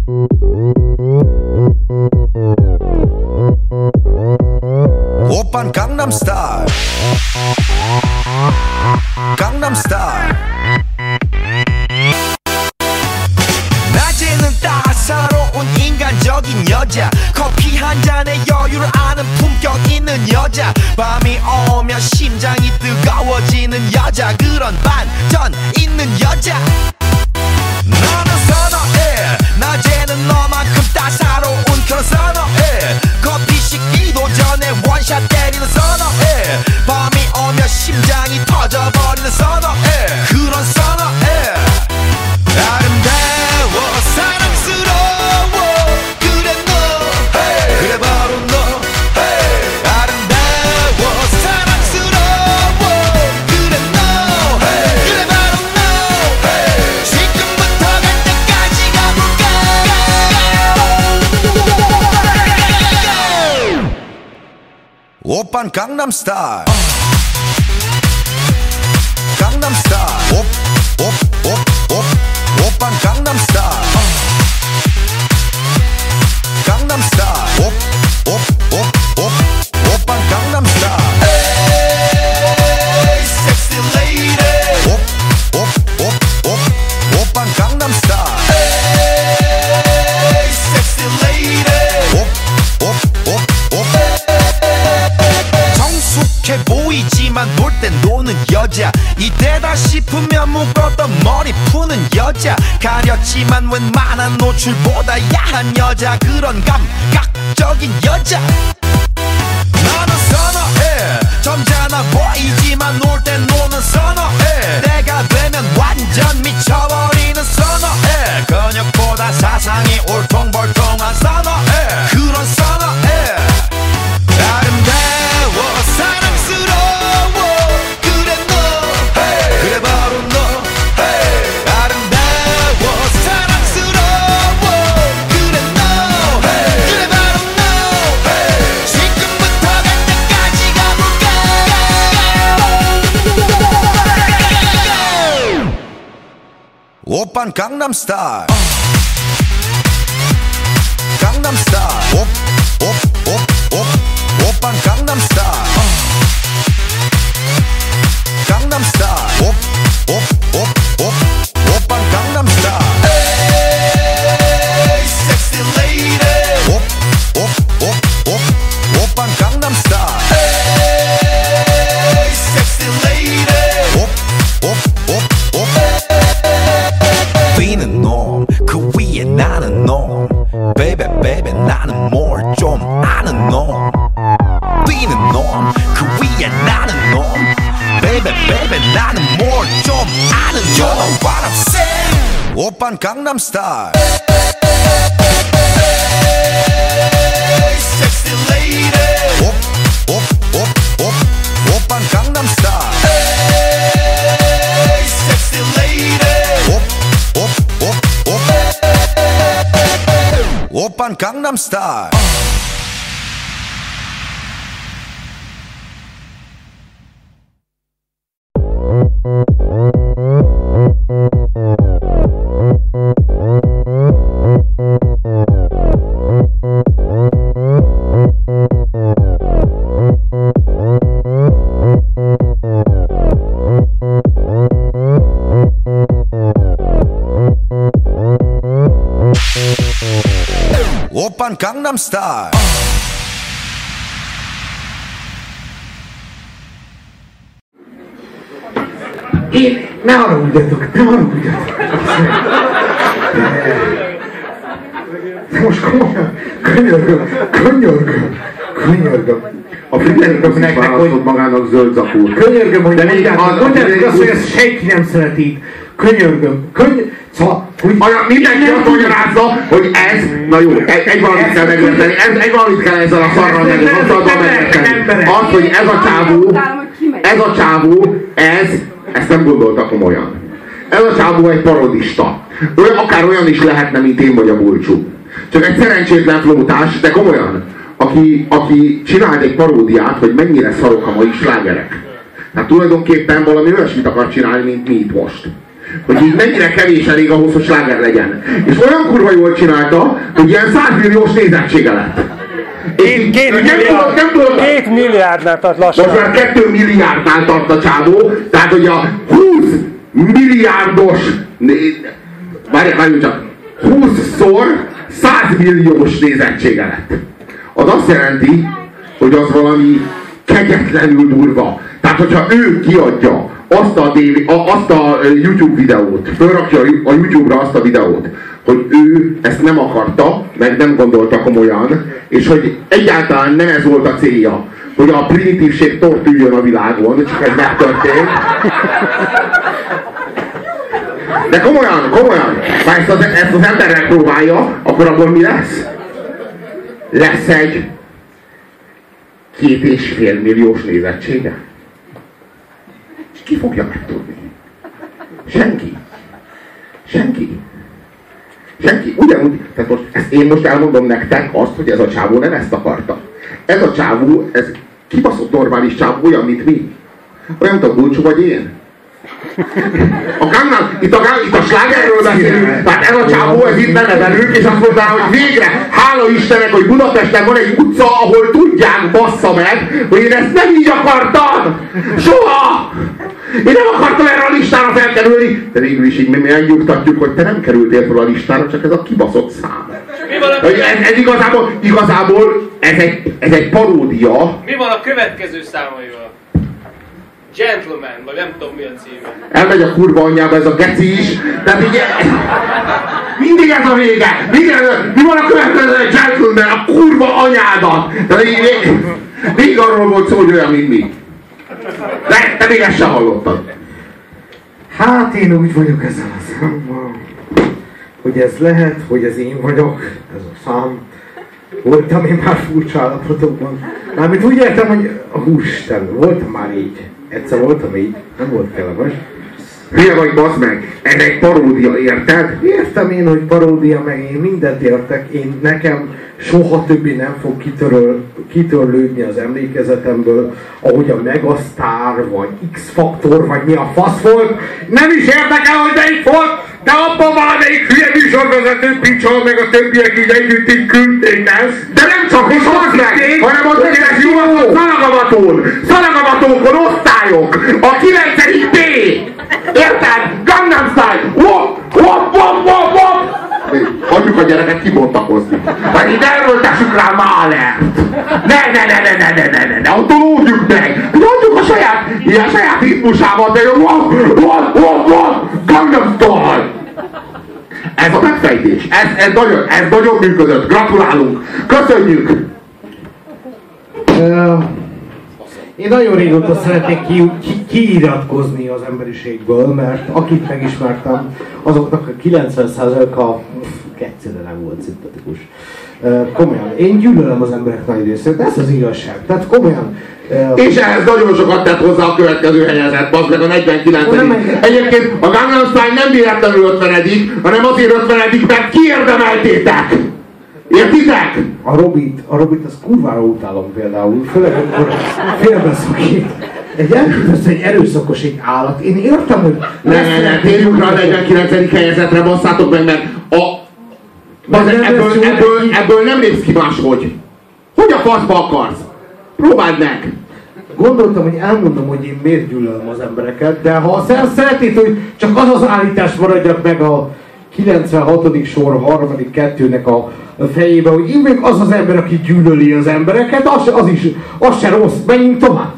오빤 강남스타일 강남스타일 낮에는 따사로운 인간적인 여자 커피 한 잔에 여유를 아는 품격 있는 여자 밤이 오면 심장이 뜨거워지는 여자 그런 반전 있는 여자 너는 선어해 낮에는 너만큼 따사로운 그런 선어해 커피 식기도 전에 원샷 때리는 선어해 밤이 오면 심장이 터져버리는 선어해 그런 선어해 아름다워 사랑스러워 그래 너 hey. 그래 바로 너 hey. 아름다워 사랑스러워 그래 너 hey. 그래 바로 너 hey. 지금부터 갈 때까지 가볼까 오빤 강남스타일 강남스타일 오빤 강남스타일 강남스타일 오빤 강남스타일 에이 섹시 레이디 오빤 강남스타일 에이 섹시 레이디 정숙해 보이지만 놀 땐 노는 여자 이때다 싶으면 묶었던 머리 푸는 여자 가렸지만 웬만한 노출보다 야한 여자 그런 감각적인 여자 나는 선어해 점잖아 보이지만 놀 땐 노는 선어해 내가 되면 완전 미쳐버리는 선어해 근육보다 사상이 울퉁불퉁한 선어해 그런 선어해 아름다워 사랑스러워 그래 너 hey. 그래 바로 너 hey. 아름다워 사랑스러워 그래 너 hey. 그래 바로 너 hey. 지금부터 갈 때까지 가볼까 오빤 강남스타일 강남스타일 오빤 강남스타일 강남스타일 오빤 강남스타일 에이 섹시 레이디 오빤 강남스타일 에이 섹시 레이디 뛰는 놈 그 위에 나는 놈 베이베 베이베 나는 뭘 좀 아는 놈 뛰는 놈 그 위에 나는 놈 베이베 베이베 나는 뭘 좀 아는 놈 You know what I'm saying 오빤 강남스타일 섹시 레이디 오빤 강남스타일 섹시 레이디 오빤 강남스타일 오빤 강남스타일 Ne haragudjatok, ne haragudjatok. De most komolyan, könyörgöm. A Fritterköknek választott magának zöld zakót. Könyörgöm, hogy mondjátok azt, hogy ezt senki nem szereti. Könyörgöm. Szóval, hogy mindenki azt magyarázza, hogy ez, na jó, egy valamit kell megérteni, egy valamit kell ezzel a szarral megérteni. Az, hogy ez a csávó, ezt nem gondolta komolyan. Ez a csávó egy parodista. Akár olyan is lehetne, mint én vagy a Bulcsú. Csak egy szerencsétlen flótás, de komolyan. Aki csinált egy paródiát, hogy mennyire szarok a mai slágerek. Hát tulajdonképpen valami olyasmit akar csinálni, mint mi itt most. hogy így mennyire kevés elég ahhoz, hogy sláger legyen. És olyan kurva jól csinálta, hogy ilyen 100 milliós nézettsége lett. 2 milliárdnál tart lassan. Most már 2 milliárdnál tart a csávó, tehát hogy a 20 milliárdos, várjunk csak, 20-szor 100 milliós nézettsége lett. Az azt jelenti, hogy az valami kegyetlenül durva. Tehát, hogyha ő kiadja azt a YouTube videót, fölrakja a YouTube-ra azt a videót, hogy ő ezt nem akarta, meg nem gondolta komolyan, és hogy egyáltalán nem ez volt a célja, hogy a primitívség tortüljön a világon, csak ez megtörtént. De komolyan, ha ezt az emberrel próbálja, akkor abból mi lesz? Lesz egy 2,5 milliós nézettsége. És ki fogja megtudni? Senki. Ugyanúgy, tehát én most elmondom nektek azt, hogy ez a csávó nem ezt akarta. Ez a csávó, ez kibaszott normális csávó, olyan, mint mi. Olyan, mint a Gulcsú vagy én. Itt a slágerről beszélünk, tehát ez a csávó, ez itt lenne velünk, és azt mondaná, hogy végre, hála Istennek, hogy Budapesten van egy utca, ahol tudják, bassza meg, hogy én ezt nem így akartam! Soha! Én nem akartam erre a listára felkerülni! De végül is így mi megnyugtatjuk, hogy te nem kerültél fel a listára, csak ez a kibaszott szám. Ez igazából ez egy paródia. Mi van a következő számaival? Gentleman, vagy nem tudom mi a címe. Elmegy a kurva anyjába ez a geci is, tehát így mindig ez a vége. Mi van a következő Gentleman, a kurva anyádat. Tehát végig arról volt szó, hogy olyan, mint mi. De te még ezt sem hallottad. Hát én úgy vagyok ezzel a számmal, hogy ez lehet, hogy ez én vagyok, ez a szám. Voltam én már furcsa állapotokban. Mármint úgy értem, hogy Úristen, voltam már így. Egyszer voltam így, nem volt kellemes. Hülye vagy, bassz meg, ez egy paródia, érted? Értem én, hogy paródia, meg én mindent értek. Nekem soha többé nem fog kitörlődni az emlékezetemből, ahogy a Megasztár, vagy X-faktor, vagy mi a fasz volt. Nem is érdekel, hogy melyik volt, de abban valamelyik hülye műsorvezető picsa, meg a többiek így együtt így küldték ezt. De nem csak is az meg, hanem az egész jó szalagavatókon osztályok, a 9. B. Érted? Gangnam Style! Wop! Hagyjuk a gyereket kibontakozni. Vagy itt erőltessük rá Málert! Ne, autolódjuk meg! Adjuk a saját ritmusával, de wop! Gangnam Style! Ez a megfejtés, ez nagyon működött. Gratulálunk! Köszönjük! Én nagyon régóta szeretnék kiiratkozni az emberiségből, mert akit megismertem, azoknak a 90%-a egyszerűen nem volt szimpatikus. Komolyan, én gyűlölöm az emberek nagy részét, ez az igazság. Tehát komolyan. És ehhez nagyon sokat tett hozzá a következő helyezett, az meg a 49. Egyébként a Gangnam Style nem véletlenül 50, hanem azért 50, mert kiérdemeltétek! Értitek? A Robit az kurvára utálom például, főleg amikor félbeszakít. Egy erőszakos egy állat. Én értem, hogy... Ne, térjünk rá a 49. helyezetre, basszátok meg, mert ebből nem lépsz ki máshogy. Hogy a faszba akarsz? Próbáld meg! Gondoltam, hogy elmondom, hogy én miért gyűlölöm az embereket, de ha szeretnéd, hogy csak az az maradjak meg a 96. sor harmadik kettőnek a fejébe, hogy én még az az ember, aki gyűlöli az embereket, az se rossz. Menjünk tovább!